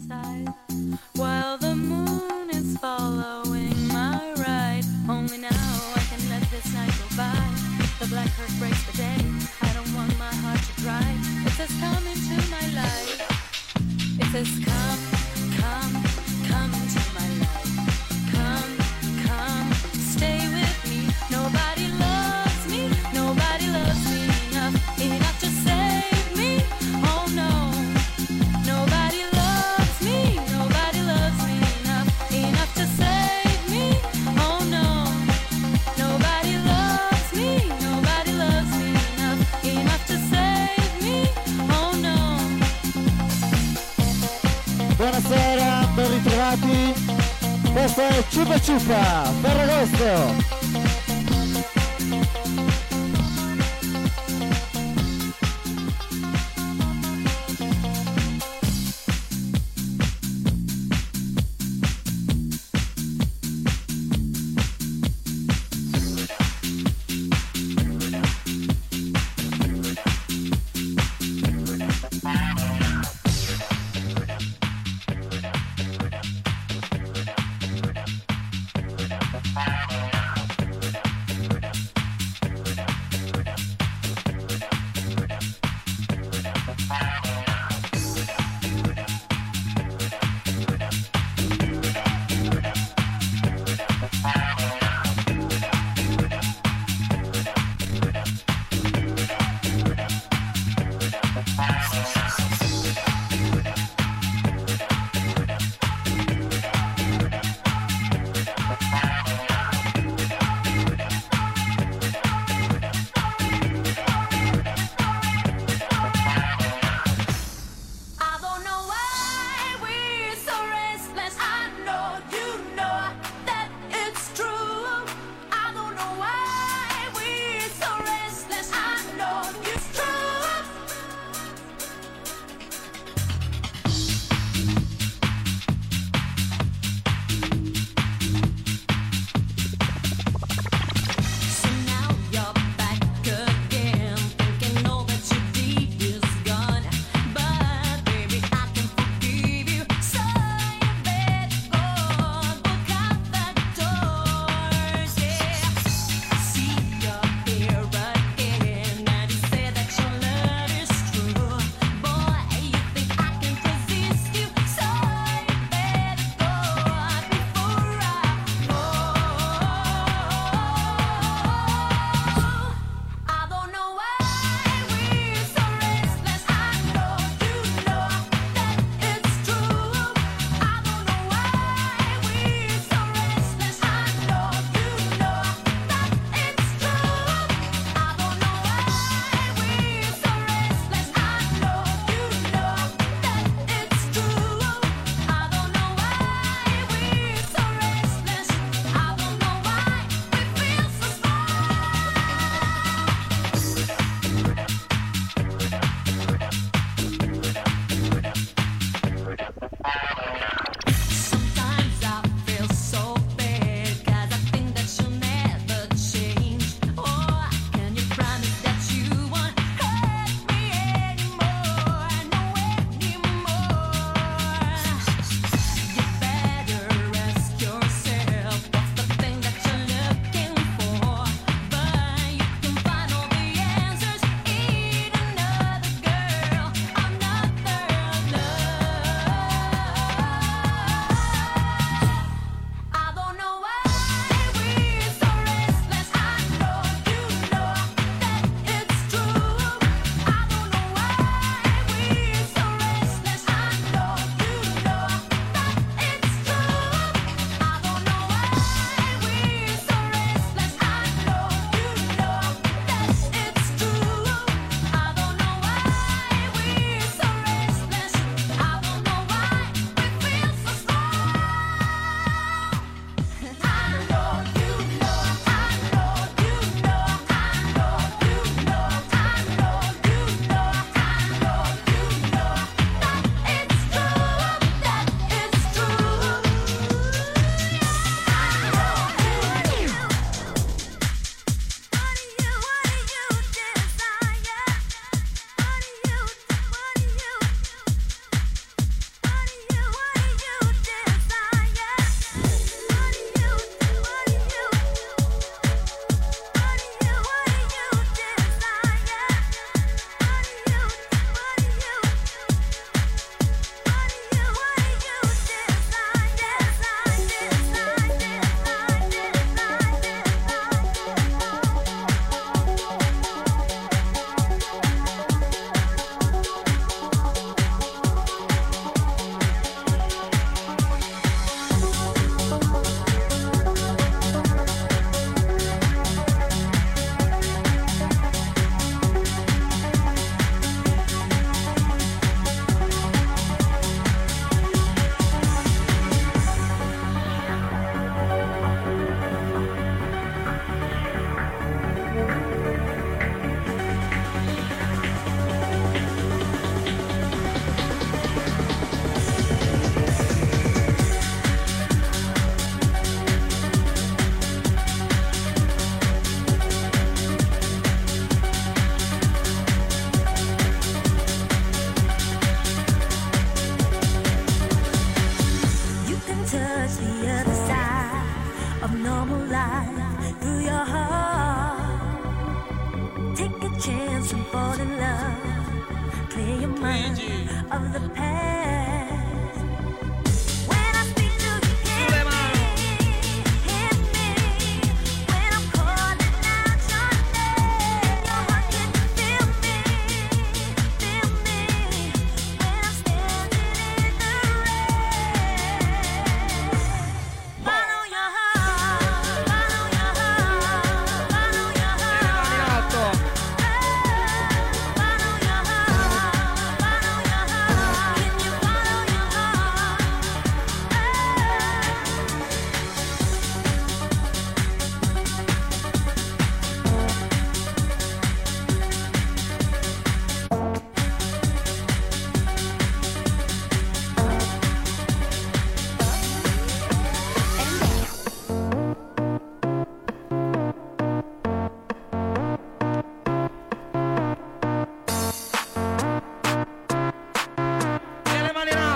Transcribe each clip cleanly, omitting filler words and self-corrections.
side while the moon is following my ride. Only now I can let this night go by. The black earth breaks the day. I don't want my heart to dry. It says come into my life. It says come, come, come into my life. Come, come, stay with me. Nobody loves me. Nobody loves me enough to save me. Oh no. Nobody loves me. Nobody loves me enough to save me. Oh no. Nobody loves me. Nobody loves me enough to save me. Oh no. Buonasera, ben ritrovati. Questo è Ciupa Ciupa, Ferragosto.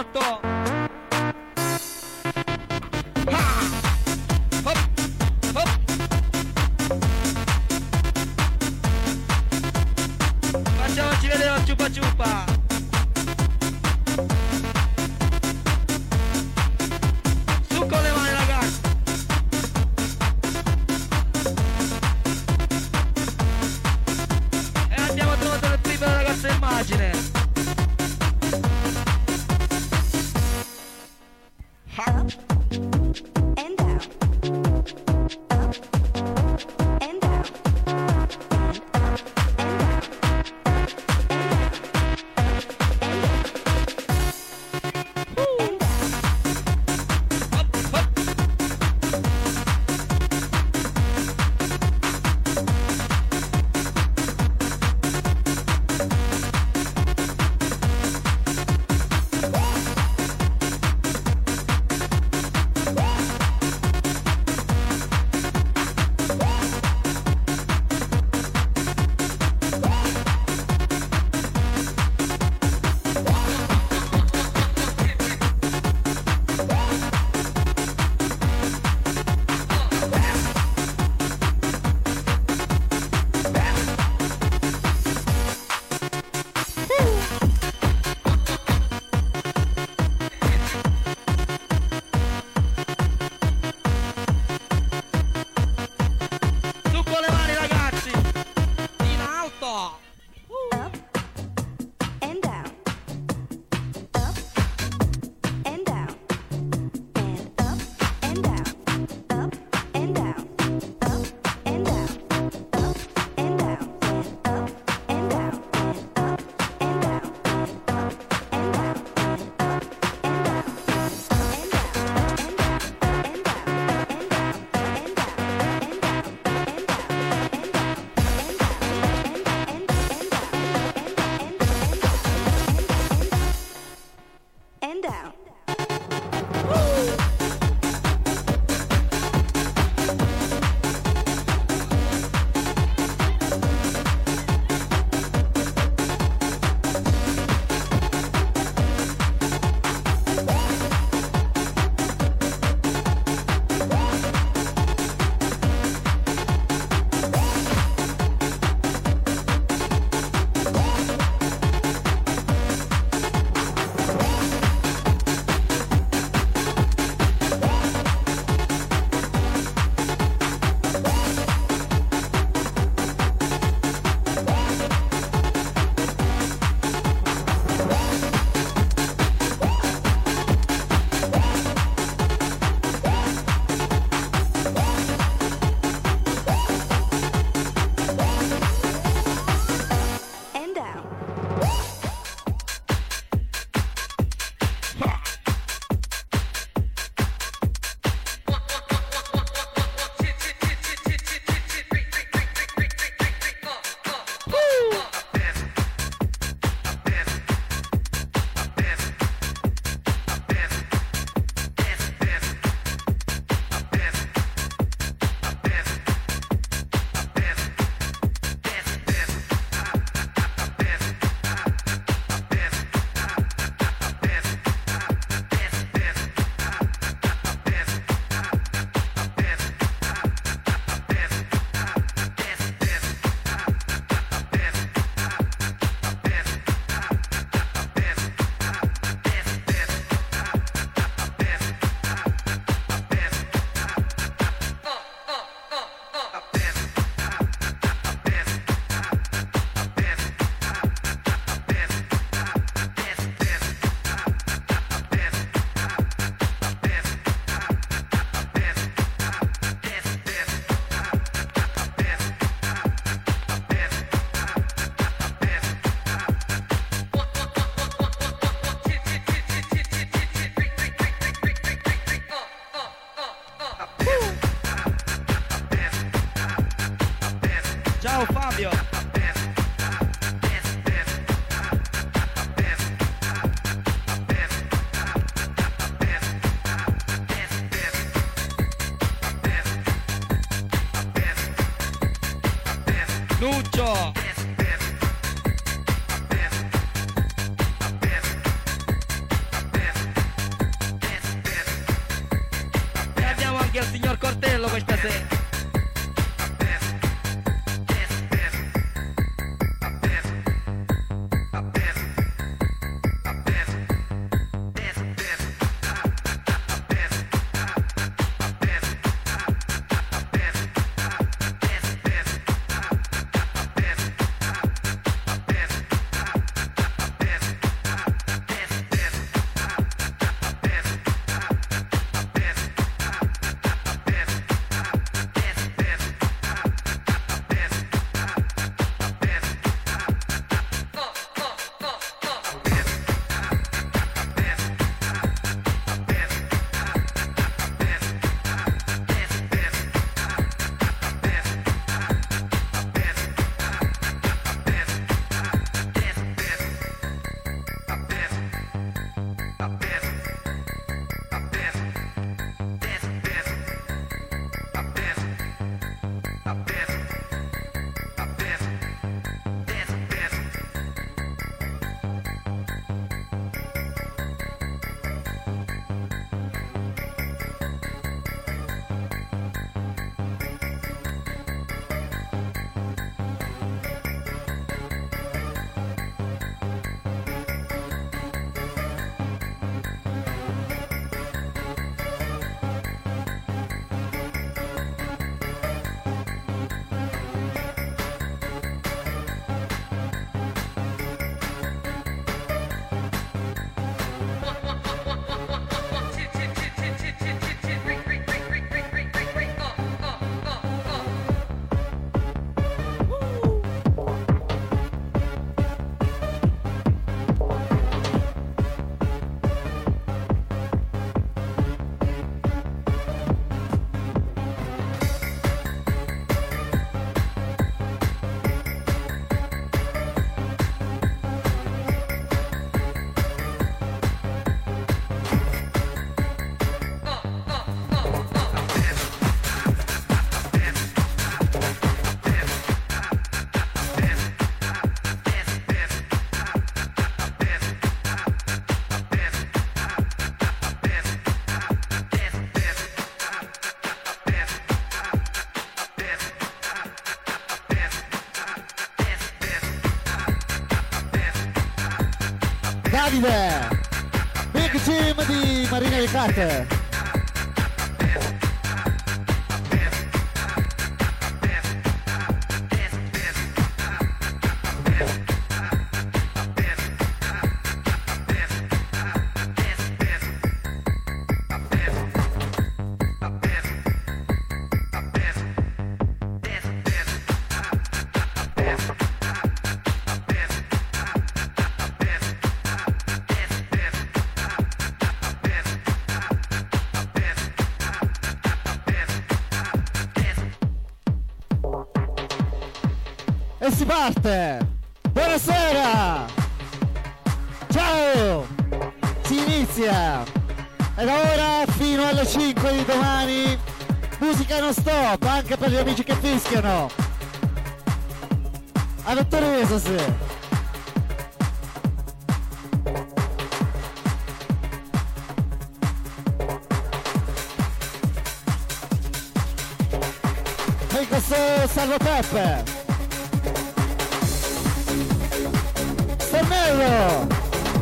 alto. Facciamoci vedere la ciupa ciupa. Su con le mani ragazzi. E andiamo a trovare il primo ragazzo immagine. Ciao Fabio. Nuccio. al signor Cortello questa sera. Davide, Big Team di Marina Ricarte. E si parte! Buonasera! Ciao! Si inizia! E da ora fino alle 5 di domani musica non stop, anche per gli amici che fischiano! Avete reso sì! E questo Salvo Peppe! Stannello!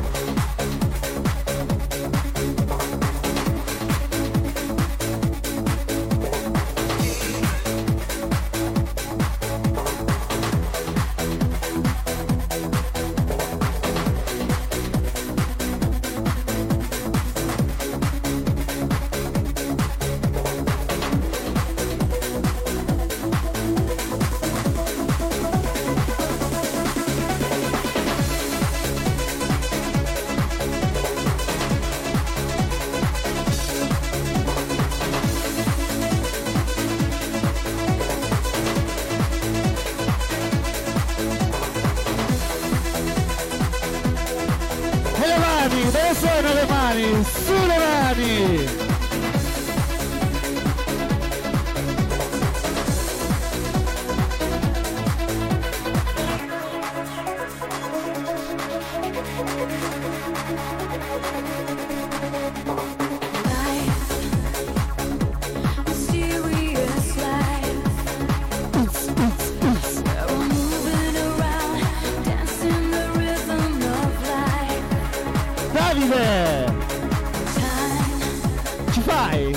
Dove sono le mani? Sulle mani! Life DJ.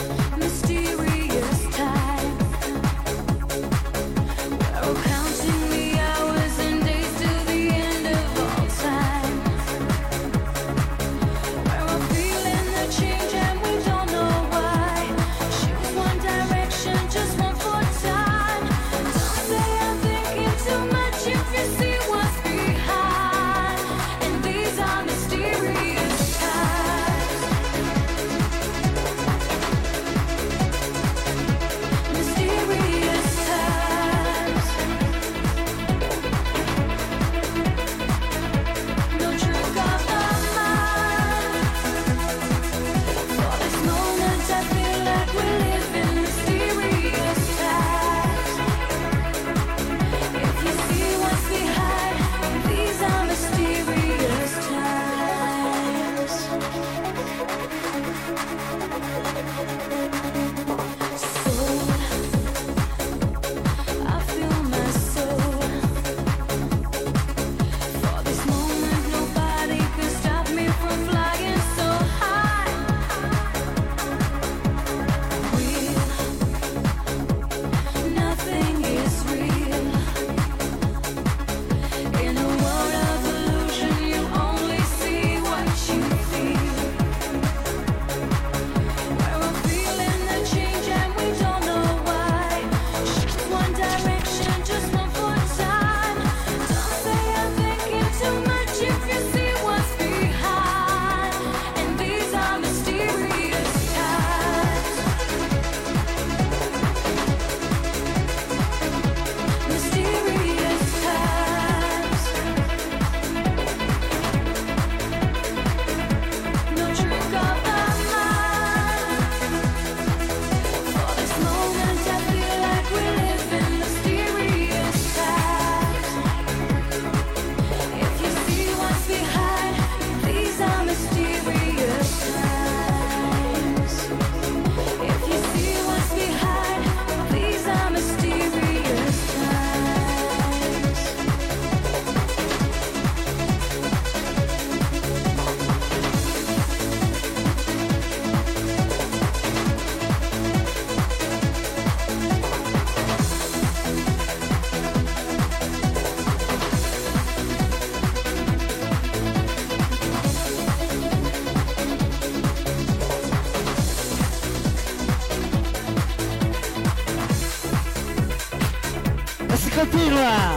Continua!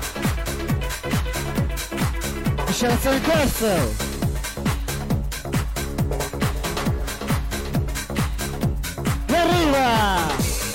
Miscelazione in corso! E arriva!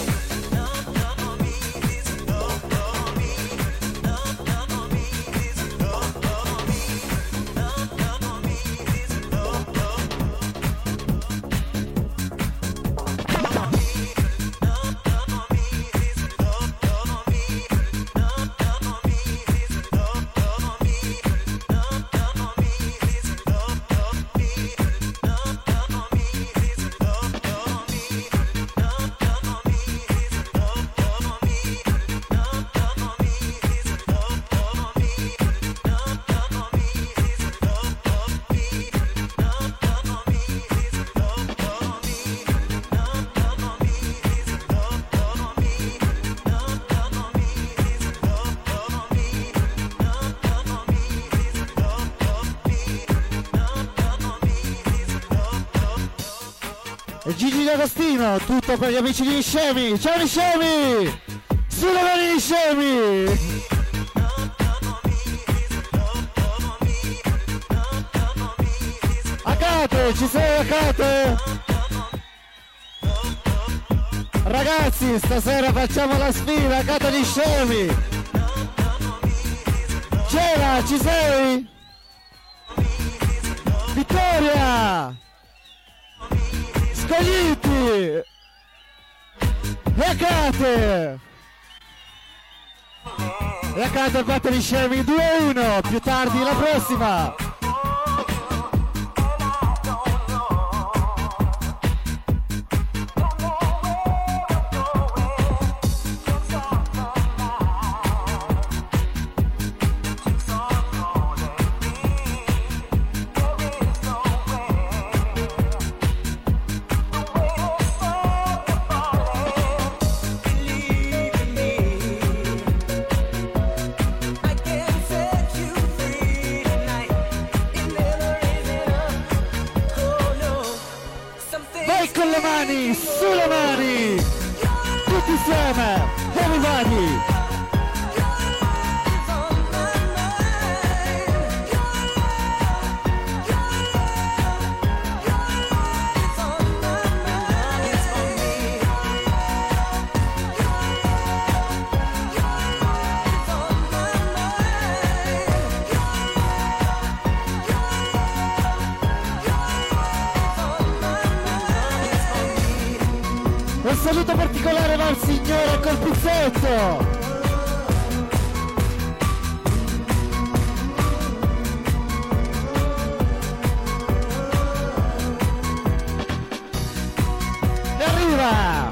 Gigi D'Agostino, tutto per gli amici di Niscemi. Ciao Niscemi! Sulle mani Niscemi! Akate, ci sei Akate? Ragazzi, stasera facciamo la sfida, Akate Niscemi! C'era, ci sei? Vittoria! Scogliti! E Akate! E Akate batte Niscemi 2-1, più tardi la prossima! E con le mani, sulle mani, tutti insieme, everybody. Un saluto particolare va al signore col pizzetto. E arriva.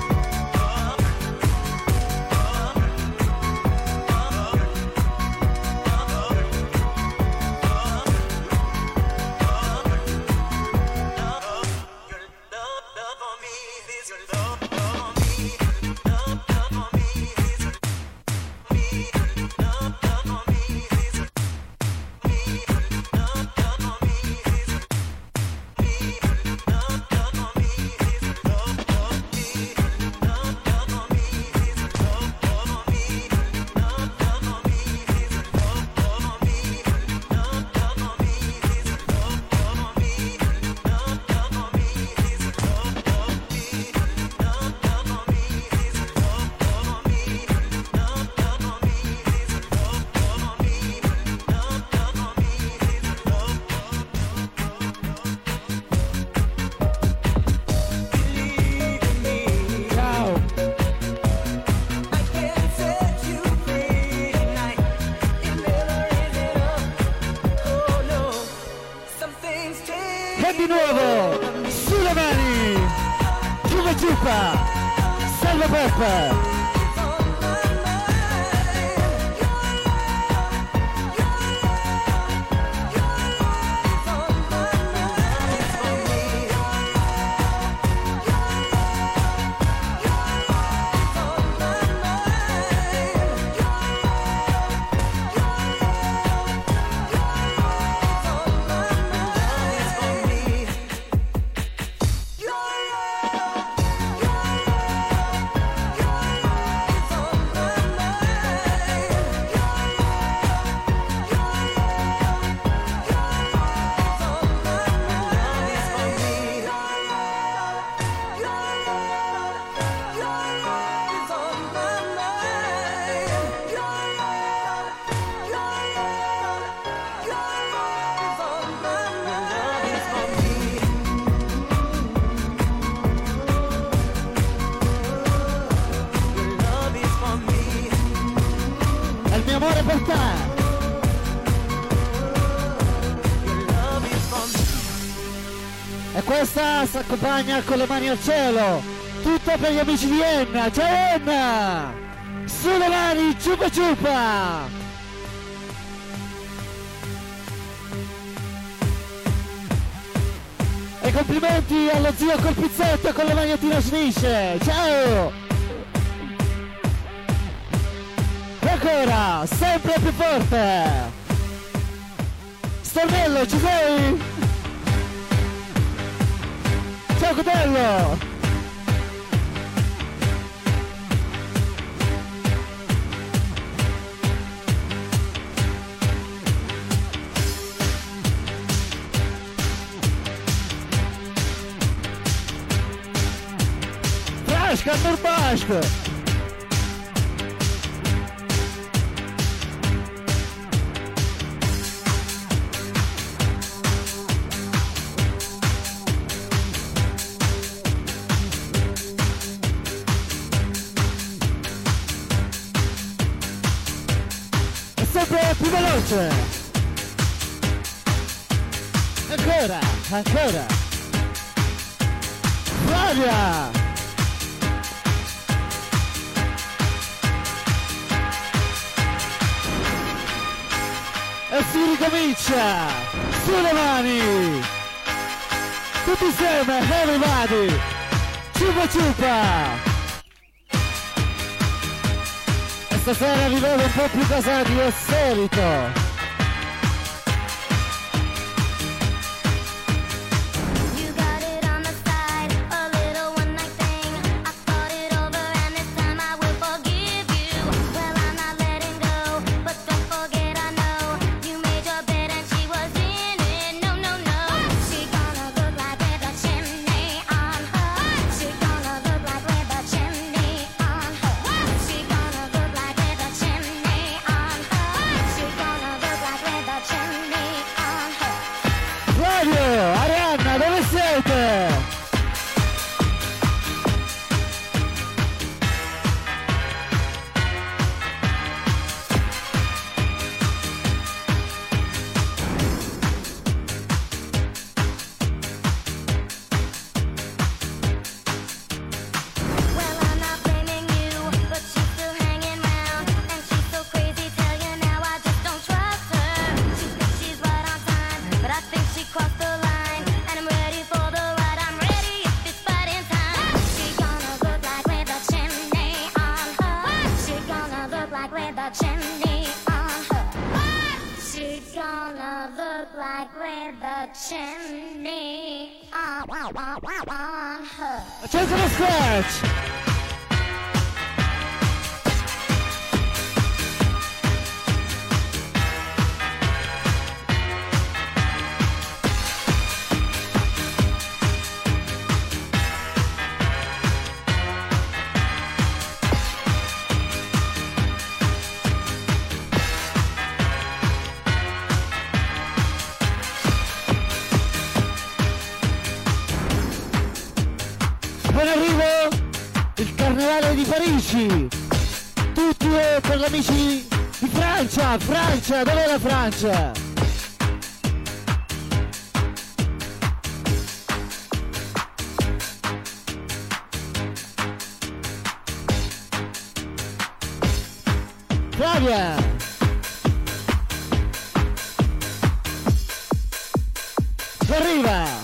Di nuovo, sulle mani, Giuva Giupa, Salva Peppe. Amore per te. E questa si accompagna con le mani al cielo, tutto per gli amici di Enna. Ciao Enna, sulle mani, ciupa ciupa. E complimenti allo zio col pizzetto con le maglietine snisce. Ciao. Ancora, sempre più forte. Stornello, ci sei? Ciao Cotello. Frasca, Nurbasco. Sempre più veloce. Ancora, ancora. Flavia. E si ricomincia. Sulle mani. Tutti insieme, everybody. Ciupa ciupa. Stasera vi vedo un po' più casati del solito. You got it on the side touching me. On her. Accento lo scratch. Buon arrivo il carnevale di Parigi, tutti per gli amici di Francia. Francia, dov'è la Francia? Flavia! Arriva!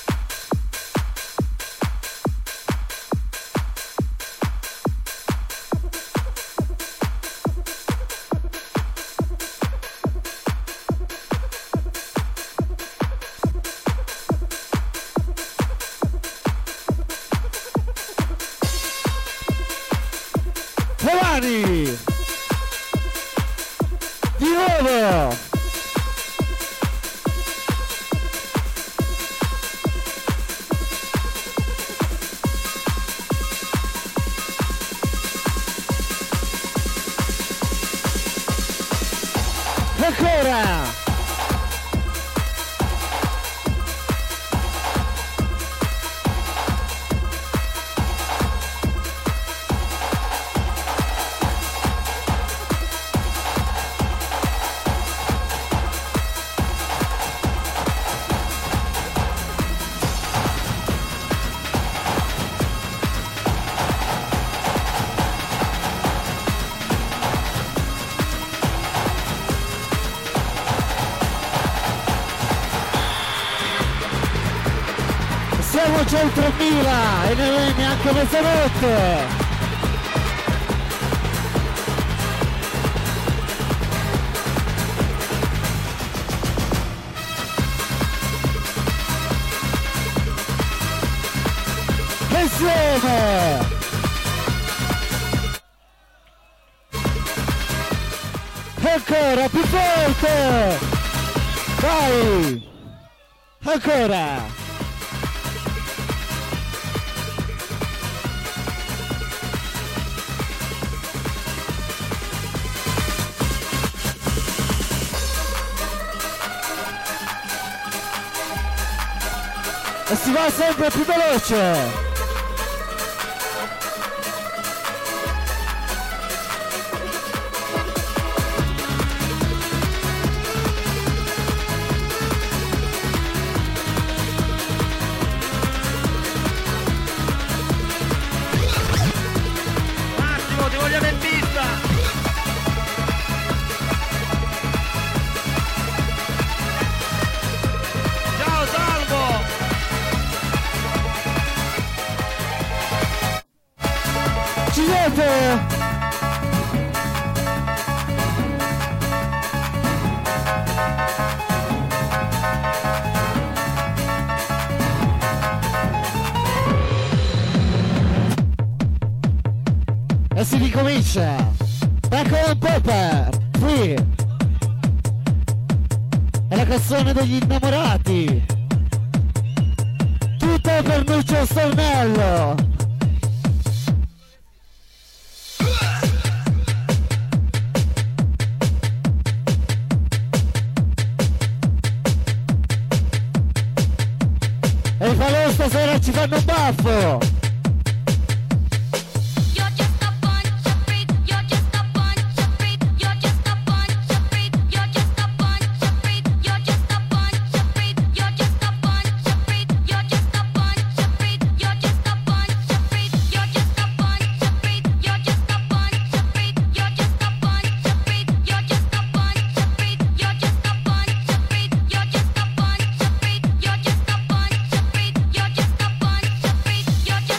Giovanni! Di nuovo! Ancora! Siamo già in 3000 e non è neanche mezzanotte! Insieme! Ancora più forte! Vai! Ancora! E si va sempre più veloce! Massimo, ti vogliamo in pista! Ciao Salvo! Ci siete? E si ricomincia! Back on Popper! Qui! È la canzone degli innamorati! Tutto per Nuccio Stornello! E i falò stasera ci fanno un baffo! You're just a bunch of freaks. You're just a bunch of freaks. You're just a bunch of freaks. You're just a bunch of freaks. You're just a bunch of freaks. You're just a bunch of freaks. You're just a bunch of freaks. You're just a bunch of freaks. You're just a bunch of freaks. You're just a bunch of freaks. You're just a bunch of freaks. You're just a bunch of freaks. You're just a bunch of freaks. You're just a bunch of freaks. You're just a bunch of freaks. You're just a bunch of freaks. You're just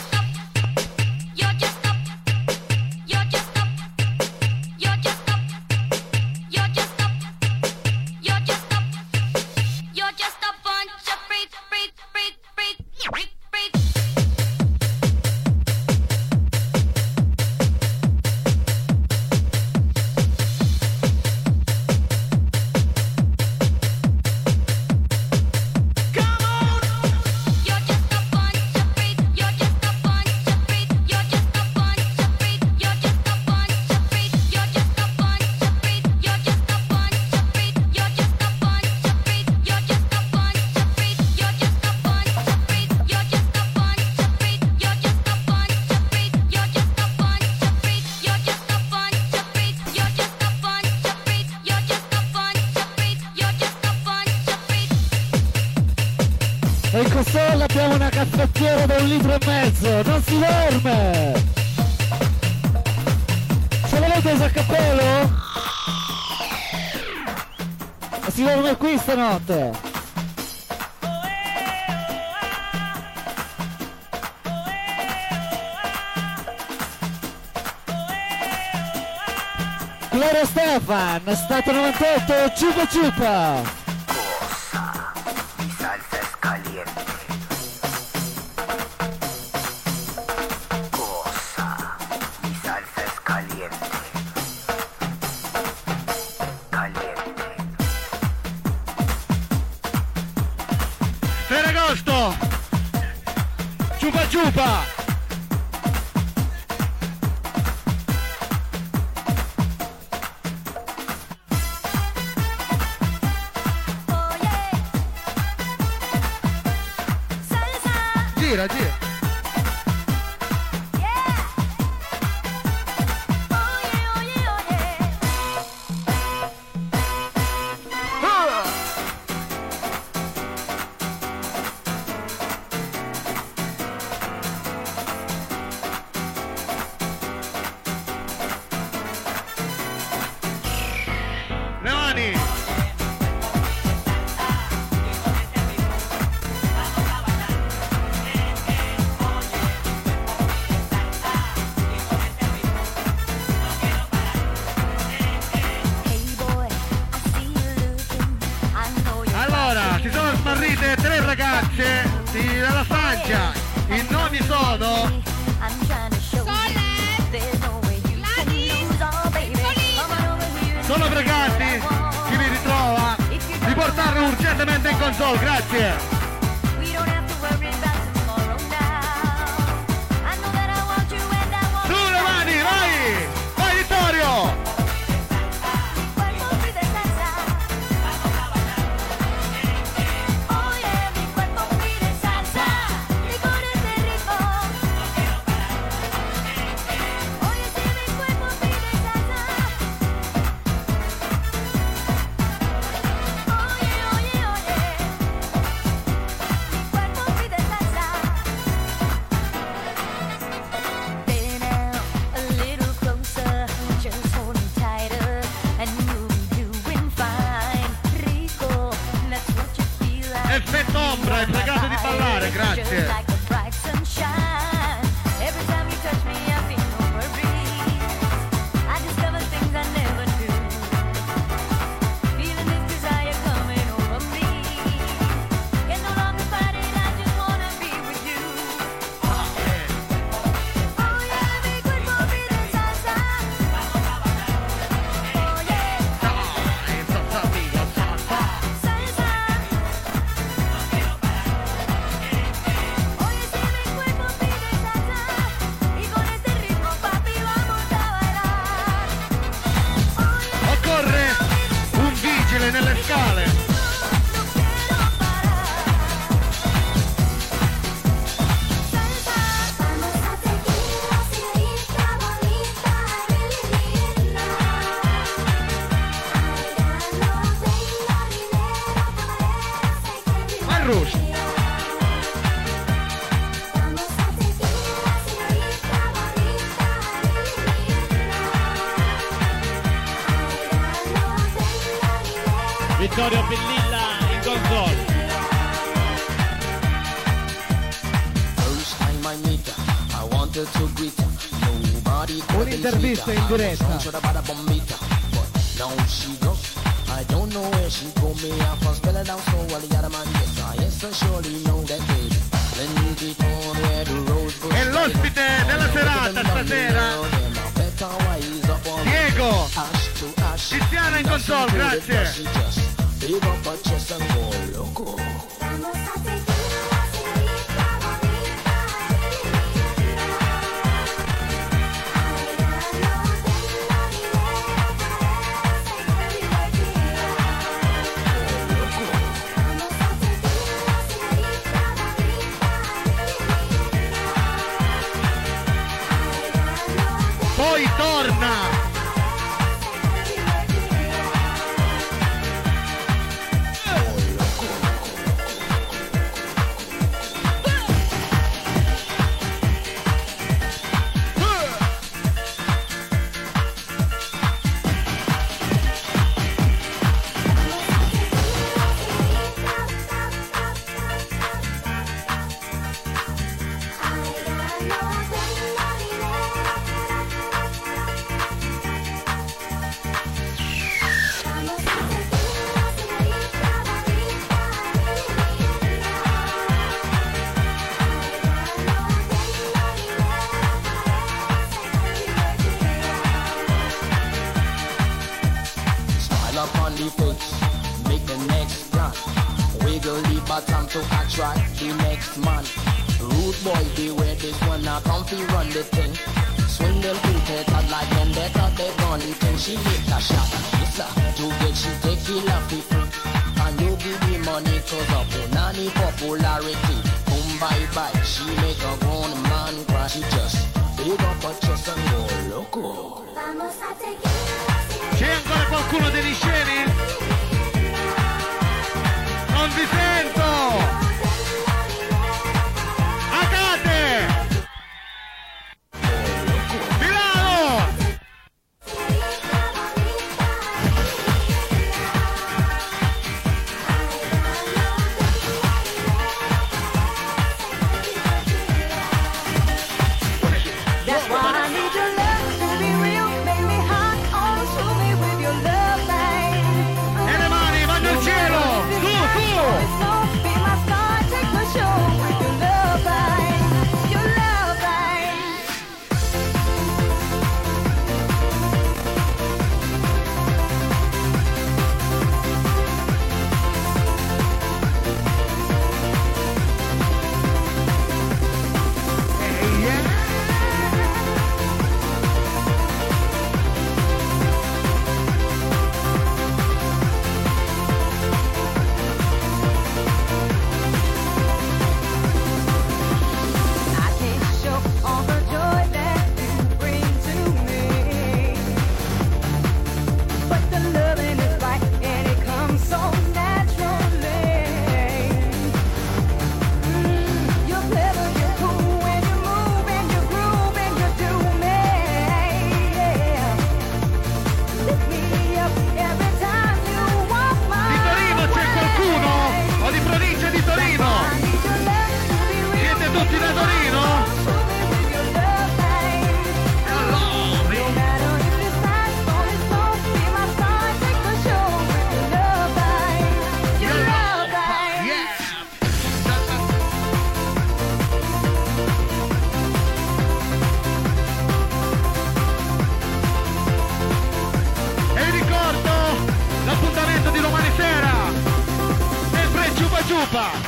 caffettiere da 1,5 litri, non si dorme! Ce l'avete il cappello? E si dorme qui stanotte! Gloria Stefan, stato 98, ciupa ciupa! Mi salsa es caliente. Cosa, mi salsa es caliente. Caliente. Ferragosto! Ciupa ciupa! Gira, gira. Le mani! Allora, si sono smarrite 3 ragazze dalla Francia. I nomi sono sono preganti. Chi vi ritrova di portarlo urgentemente in console, grazie. Sulle mani, vai! Vai Vittorio! Effetto ombra, è pregato di ballare, grazie. Nelle scale. Vai Rush. Vittorio Bellilla in console. Un'intervista in diretta. I don't know where she go me I first spell it down so well the other man yes I surely know that baby then keep on where the road goes. E l'ospite della serata stasera Diego Tiziana in console, grazie. Big up her chest and go loco. Poi torna. try the next man. Rude boy, beware this one, now come fi run the thing. Swing them feet out like them, they thought they gone thing. She hit a shot, yes sir, to get she take it off the free. And you give the money cause of the nanny popularity. Boom bye bye, she make a grown man cry. She just big up her chest and go loco. C'è ancora qualcuno degli sceni? Non vi sento! Agate! Milano! That's why I need your love to be real. Make me hot, always fill me with your love, babe. E le mani vanno al cielo! Su, su! Be my star, take my show with your love, babe. Your love, babe. I can't show all the joy that you bring to me, but the loving is right and it comes so naturally. You're clever, you're cool, and you move and you groove and you do me. Lift me up every time you walk my Di Torino c'è qualcuno? O di provincia di Torino? I need your love to be real. Siete tutti da Torino? Show me with your love, babe. No matter if it's nice or it's cold, be my star, take the show with your love, babe. Your love, babe. E vi ricordo l'appuntamento di domani sera, sempre Ciupa Ciupa.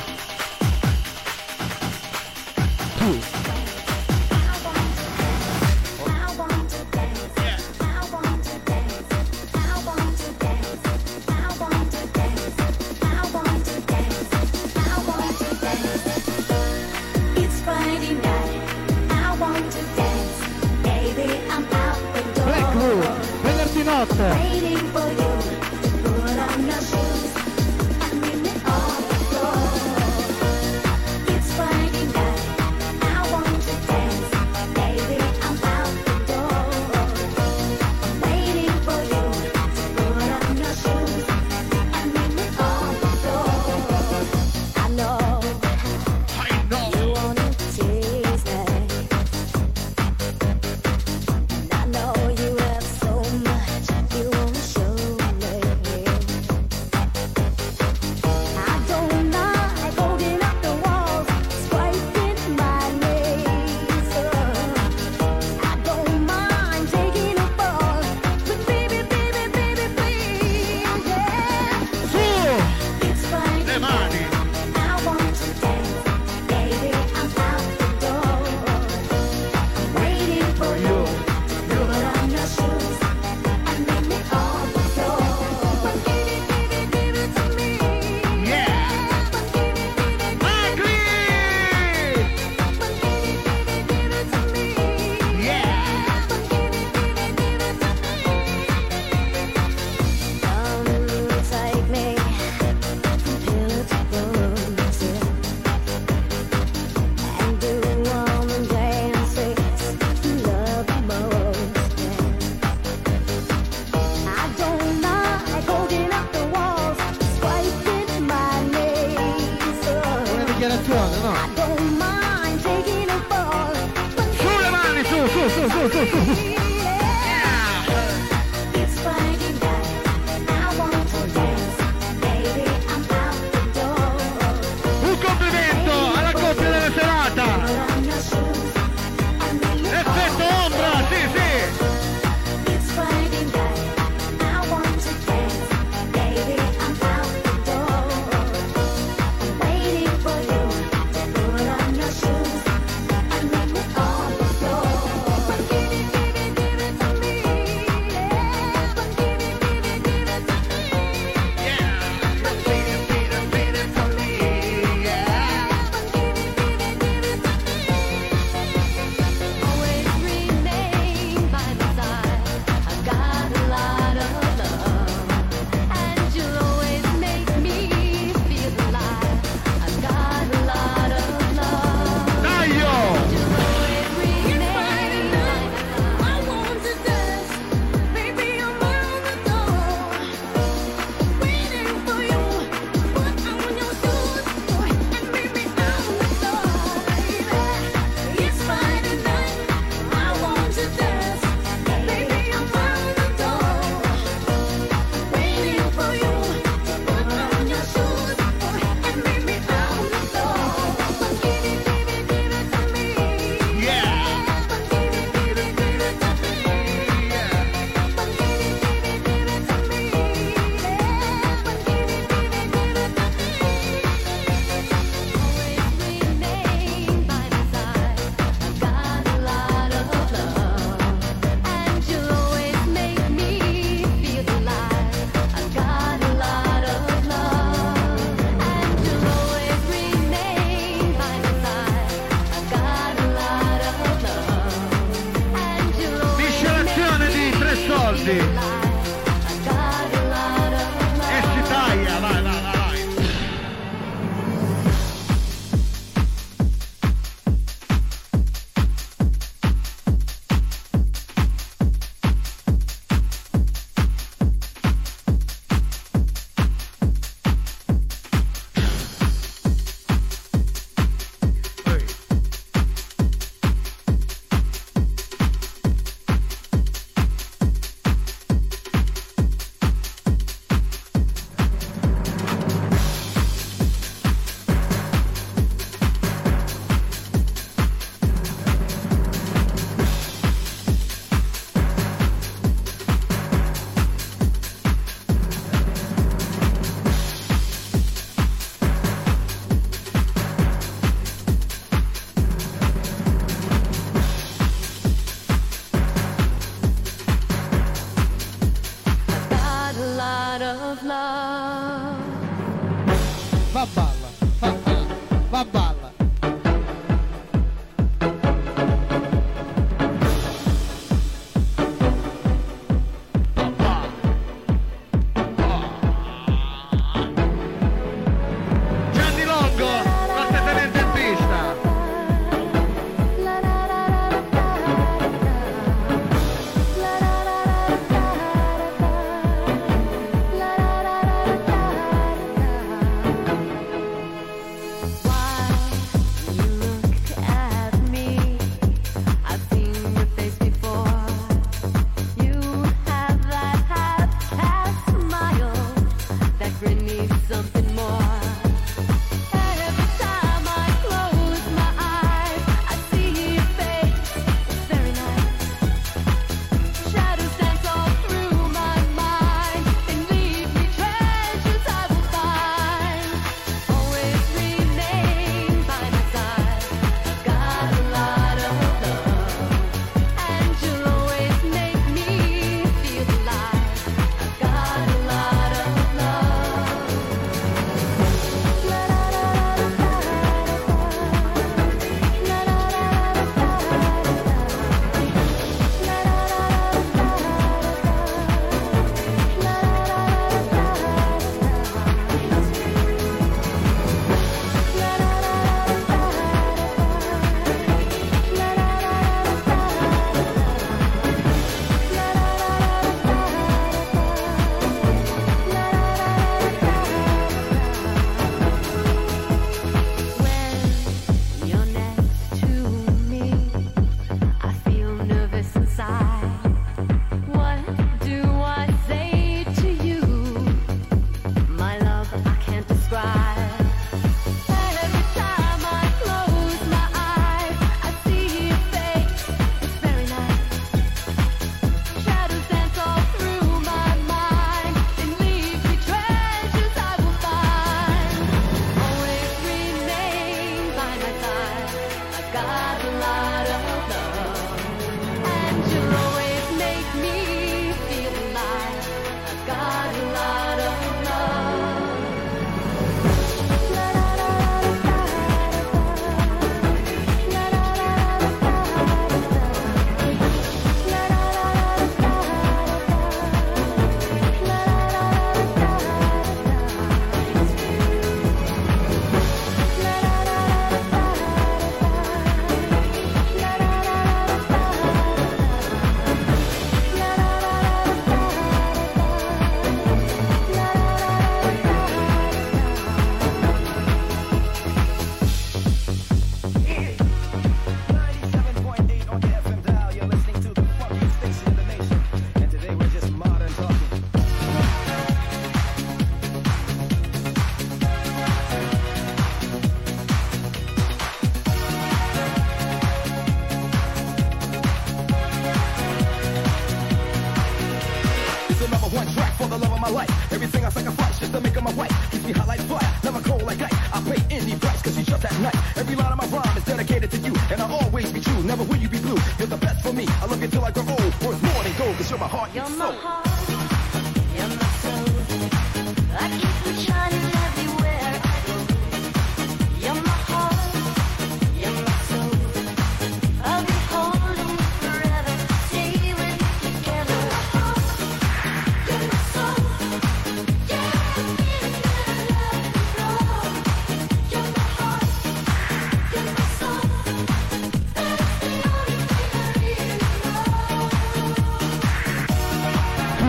It's Friday night. I want to dance. Baby, I'm out the Black Blue, door. venerdì notte. Waiting for you to put on your shoes and meet me on the floor. It's Friday night. I want to dance. Baby, I'm out the door. Waiting for you to put on your shoes and meet me on the floor. I know you wanna taste it. And I know you have so much you wanna show me. I don't mind holding up the walls, swiping my knees. I don't mind taking a fall, but baby, baby, baby, please, yeah. Su! It's Friday Le mani! I want to dance, baby, I'm out the door. Waiting for you to put on your shoes and meet me on the floor. But give it to me. Yeah! But give it to me. Macri! But give it to me. Yeah! But give it to me. Come take me from pillar to post, and do all the dances you love the most. I don't mind holding up the walls, swiping my knees. Una dichiarazione, no? I don't mind taking a fall, but Su le mani, su! it's Friday night. I want to dance, baby, I'm out the door. Un complimento alla coppia della serata! Put on your shoes and meet me Effetto ombra, sì, sì! It's Friday night. I want to dance, baby, I'm out the door. I'm waiting for you Easy. E si taglia, vai, vai, vai, vai.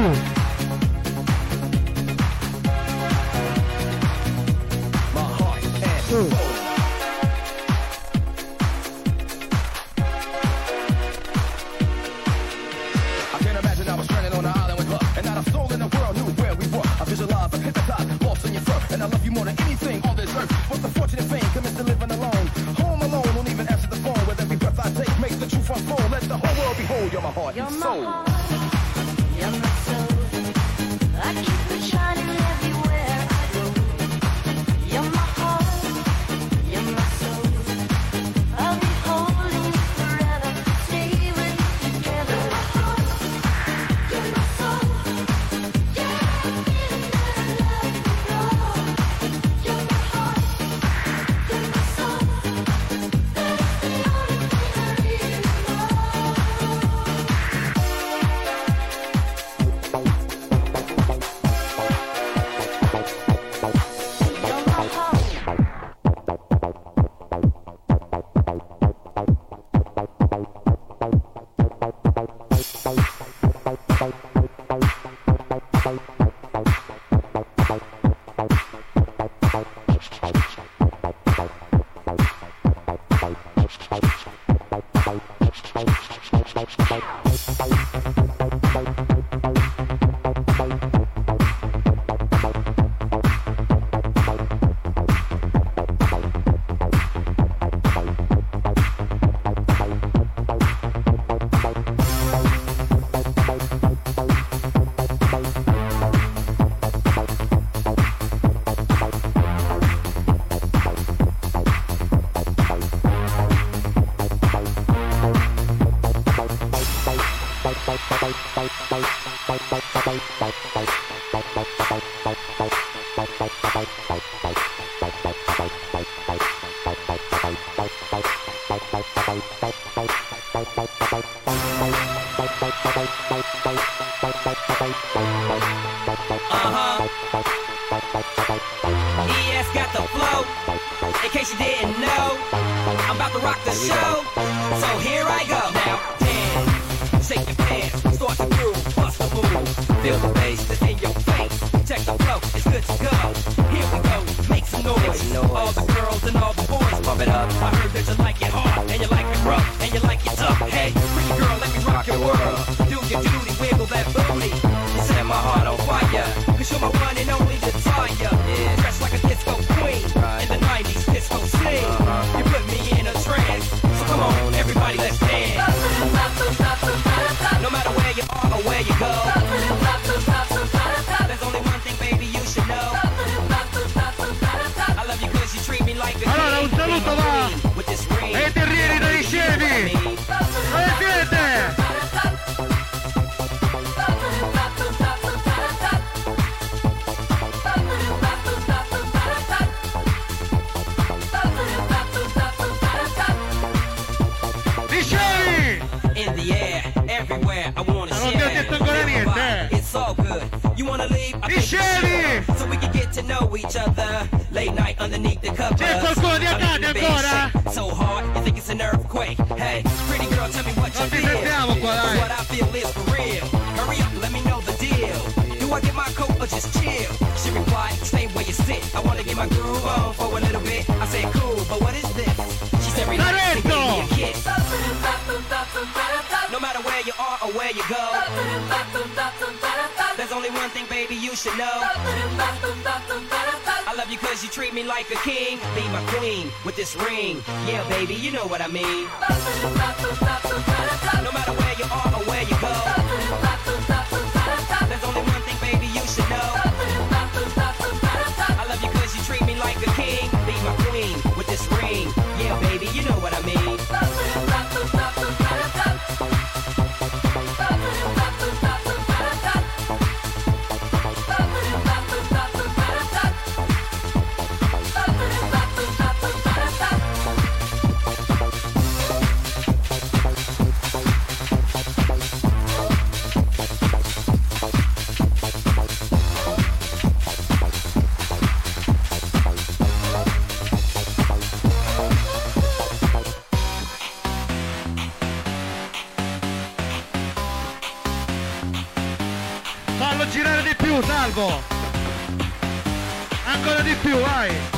I can't imagine I was stranded on an island with love, and not a soul in the world knew where we were. I visualized, I hypnotized, lost in your fur, and I love you more than anything on this earth. What's the fortunate fame commits to living alone? Home alone, won't even answer the phone. With every breath I take, makes the truth unfold. Let the whole world behold. You're my heart and soul. You're my soul. I keep it shining everywhere I go. You're my heart. You're my soul. I'll be holding you forever. Stay with you together. You're my soul. Yeah, feeling that I love you. You're my heart. You're my soul. That's the only thing I really ES got the flow. In case you didn't know, I'm about to rock the show. So here I go. Now dance, shake your pants, start the groove, bust the move. Feel the bass that's in your face. Check the flow, it's good to go. Here we go, make some noise. All the girls and all the boys, pump it up. I heard that you like it hard, and you like it rough, and you like it tough. Hey, pretty girl, let me rock your world. Do your duty, wiggle that booty. Set my heart on fire, cause you're my one and only desire. Yeah. Dressed like a disco queen, in the 90s disco scene. You put me in a trance, so come on, everybody, let's dance. No matter where you are or where you go, there's only one thing, baby, you should know. I love you cause you treat me like a king. Allora un saluto va ai terrieri dei scemi. Dove siete? In the air, everywhere, I wanna non ti ho detto ancora niente. It's all good. You wanna leave? I think so we can get to know each other. Late night underneath the cover. C'è qualcuno di Acadi ancora? So hard, you think it's an earthquake. Hey, pretty girl, tell me what you feel. Sentiamo qua, dai. What I feel is for real. Hurry up, let me know the deal. Do I get my coat or just chill? She replied, stay where you sit. I wanna get my groove on for a little bit. I said, cool, but what is this? She said, relax and give me a kiss. No matter where you are or where you go, there's only one thing, baby, you should know. I love you cause you treat me like a king. Be my queen with this ring. Yeah, baby, you know what I mean. No matter where you are or where you go, there's only one thing, baby, you should know. I love you cause you treat me like a king. Be my queen with this ring. Yeah, baby, you know what I mean. girare di più, Salvo. Ancora di più, vai.